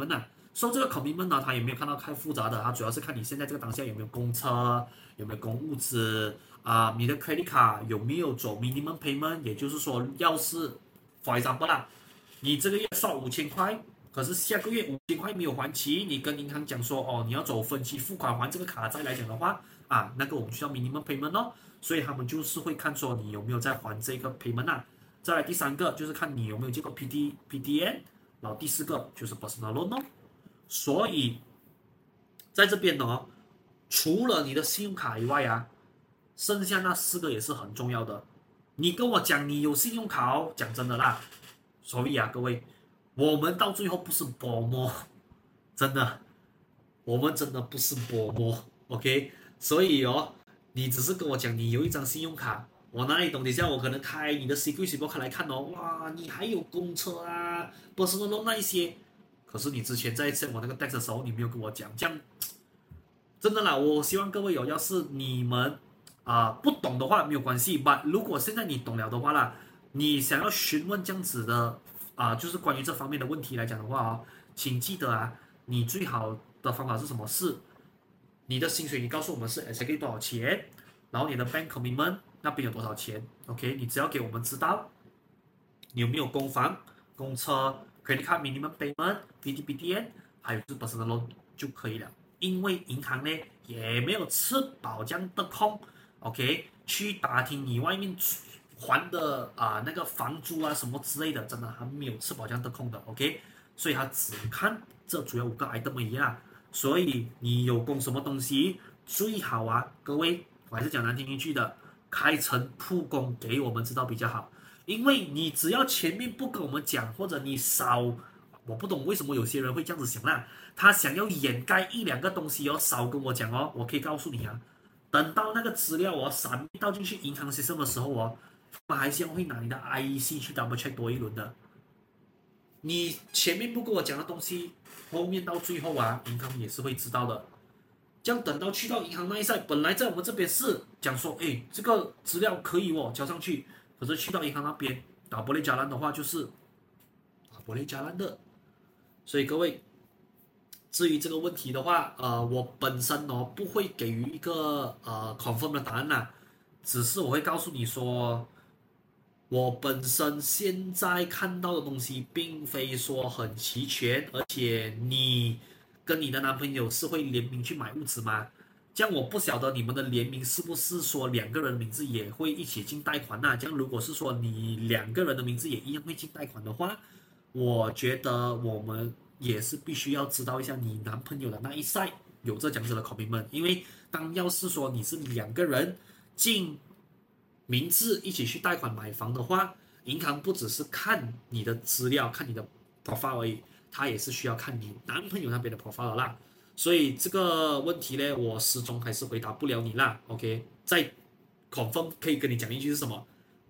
所以這個 commitment 呢，它也沒有看到太複雜的，它主要是看你現在這個當下有沒有供車，有沒有供物資啊、呃，你的 credit card 有沒有走 minimum payment，也就是說，要是 for example 啦，你這個月刷五千塊，可是下個月五千塊沒有還齊，你跟銀行講說哦，你要走分期付款還這個卡債來講的話啊，那個我們需要 minimum payment 哦，所以他們就是會看說你有沒有在還這個 payment 啊。再來第三個就是看你有沒有這個 P D P D N， 然後第四個就是 personal loan 哦。所以在這邊呢，除了你的信用卡以外啊，剩下那四個也是很重要的。你跟我講你有信用卡哦，講真的啦，所以啊各位，我們到最後不是薄膜，真的，我們真的不是薄膜 ，OK？ 所以哦，你只是跟我講你有一張信用卡，我哪裡懂？等一下我可能開你的 Security Report 來看哦，哇，你還有公車啊 ，personal loan 那一些。可是你之前在send我那個 text 的時候，你沒有跟我講，這樣真的啦。我希望各位有，要是你們啊、呃、不懂的話沒有關係，但如果現在你懂了的話啦，你想要詢問這樣子的啊、呃，就是關於這方面的問題來講的話哦，請記得啊，你最好的方法是什麼？是你的薪水，你告訴我們是 exactly 多少錢，然後你的 bank commitment 那邊有多少錢 ，OK？ 你只要給我們知道你有沒有供房、供車。credit card minimum payment、P D P D N， 還有就是 personal loan 就可以了。因為銀行呢也沒有吃飽這樣的空 ，OK， 去打聽你外面還的啊、呃、那個房租啊什麼之類的，真的還沒有吃飽這樣的空的 ，OK， 所以他只看這主要五個 item 一樣。所以你有供什麼東西，最好啊，各位，我還是講難聽一句的，開誠布公給我們知道比較好。因為你只要前面不跟我們講，或者你少，我不懂為什麼有些人會這樣子想啦。他想要掩蓋一兩個東西哦，少跟我講哦。我可以告訴你啊，等到那個資料哦閃倒進去銀行 system 的時候哦，馬來西亞會拿你的 I E C 去 double check 多一輪的。你前面不跟我講的東西，後面到最後啊，銀行也是會知道的。這樣等到去到銀行那一 side， 本來在我們這邊是講說，哎，這個資料可以哦，交上去。可是去到銀行那邊打玻璃加爛的話，就是打玻璃加爛的。所以各位，至於這個問題的話，呃，我本身哦不會給予一個呃 confirm 的答案吶，只是我會告訴你說，我本身現在看到的東西並非說很齊全，而且你跟你的男朋友是會聯名去買物資嗎？這樣我不曉得你們的聯名是不是說兩個人的名字也會一起進貸款吶？這樣如果是說你兩個人的名字也一樣會進貸款的話，我覺得我們也是必須要知道一下你男朋友的那一 side 有這樣子的 commitment， 因為當要是說你是兩個人進名字一起去貸款買房的話，銀行不只是看你的資料、看你的 profile 而已，他也是需要看你男朋友那邊的 profile 啦。所以這個問題呢，我始終還是回答不了你啦。OK， 再 confirm 可以跟你講一句是什麼？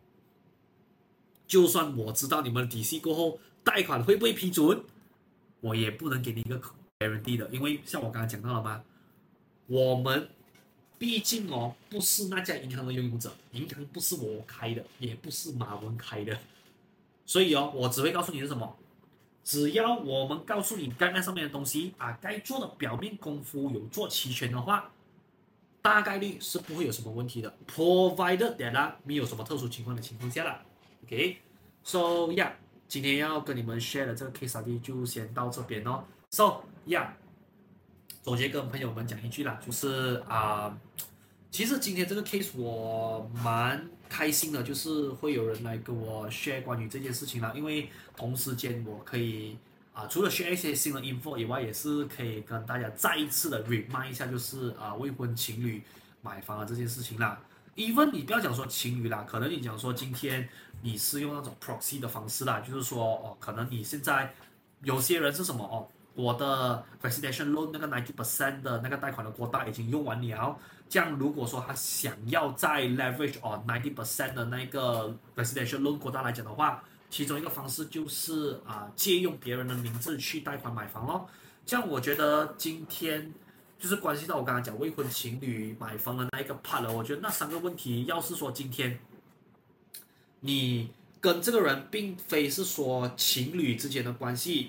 就算我知道你們的底細過後，貸款會不會批准，我也不能給你一個 guarantee 的，因為像我剛剛講到了嘛，我們畢竟哦不是那家銀行的擁有者，銀行不是我開的，也不是馬文開的，所以哦，我只會告訴你是什麼。只要我們告訴你該那上面的東西啊，該做的表面功夫有做齊全的話，大概率是不會有什麼問題的。Provided that 啦，沒有什麼特殊情況的情況下啦。OK，so yeah， 今天要跟你們 share 的這個 case study 就先到這邊哦。So yeah， 總結跟朋友們講一句啦，就是啊、呃，其實今天這個 case 我蠻開心的，就是會有人來跟我 share 關於這件事情啦，因為同時間我可以啊、呃，除了 share 一些新的 info 以外，也是可以跟大家再一次的 remind 一下，就是啊、呃、未婚情侶買房的這件事情啦。even 你不要講說情侶啦，可能你講說今天你是用那種 proxy 的方式啦，就是說哦，可能你現在有些人是什麼哦，我的 residential loan 那個 ninety percent 的那個貸款的 quota 已經用完了。這樣如果說他想要再 leverage on ninety percent 的那個 residential loan quota 來講的話，其中一個方式就是啊、呃、借用別人的名字去貸款買房咯。這樣我覺得今天就是關係到我剛剛講未婚情侶買房的那一個 part 了。我覺得那三個問題，要是說今天你跟這個人並非是說情侶之間的關係，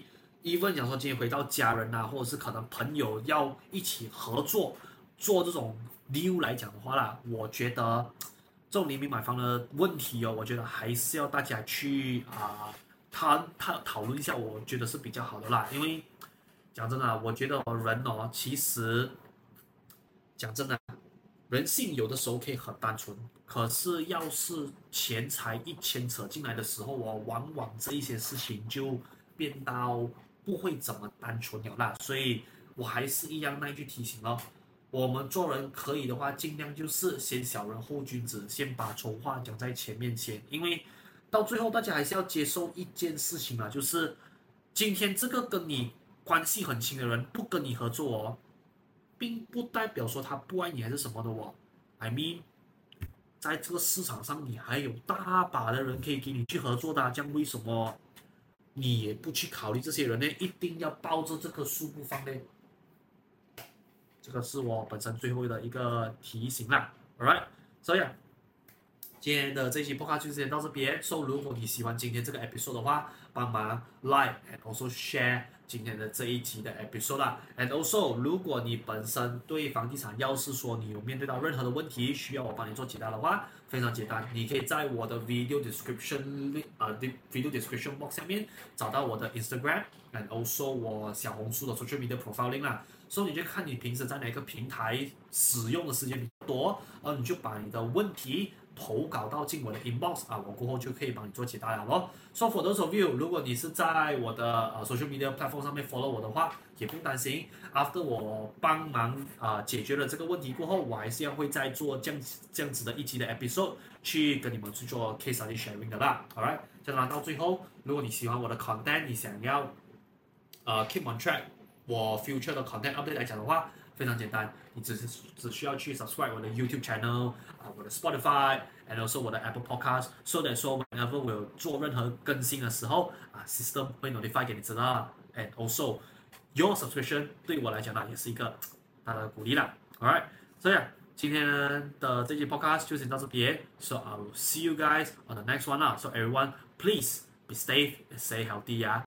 even 講說今天回到家人啊，或者是可能朋友要一起合作做這種 deal 來講的話啦，我覺得這種聯名買房的問題哦，我覺得還是要大家去啊，他他討論一下，我覺得是比較好的啦。因為講真的，我覺得人哦，其實講真的，人性有的時候可以很單純，可是要是錢財一牽扯進來的時候哦，往往這一些事情就變到不會怎麼單純了啦。所以我還是一樣那一句提醒咯，我們做人可以的話，盡量就是先小人後君子，先把醜話講在前面先，因為到最後大家還是要接受一件事情啊，就是今天這個跟你關係很親的人不跟你合作哦，並不代表說他不愛你還是什麼的哦。I mean， 在這個市場上你還有大把的人可以給你去合作的啊，這樣為什麼你也不去考慮這些人呢？一定要抱着這棵樹不放呢？這個是我本身最後的一個提醒啦。Alright， 所以啊，今天的這期 podcast 就先到這邊。So， 如果你喜歡今天這個 episode 的話，幫忙 like and also share 今天的這一集的 episode 啦。And also， 如果你本身對房地產，要是說你有面對到任何的問題，需要我幫你做解答的話，非常簡單，你可以在我的 video description 啊、呃、video description box 下面找到我的 Instagram and also 我小紅書的 social media profiling 啦。所以你就看你平時在哪個平台使用的時間比較多，而你就把你的問題投稿到進我的 inbox 啊，我過後就可以幫你做解答了咯。So for those of you， 如果你是在我的呃 social media platform 上面 follow 我的話，也不用擔心。After 我幫忙啊、呃、解決了這個問題過後，我還是要會再做這樣這樣子的一集的 episode 去跟你們去做 case study sharing 的啦。Alright， 這樣到最後，如果你喜歡我的 content， 你想要呃 keep on track 我 future 的 content update 來講的話，非常簡單，你只是只需要去 subscribe 我的 YouTube channel 啊，我的 Spotify，and also 我的 Apple Podcast，so that 說 whenever 我有做任何更新的時候啊 ，system 會 notify 給你知道。And also your subscription 對我來講呢，也是一個大大的鼓勵啦。Alright， 所以今天的這期 podcast 就先到這邊。So I will see you guys on the next one 啦。So everyone please be safe and stay healthy 呀。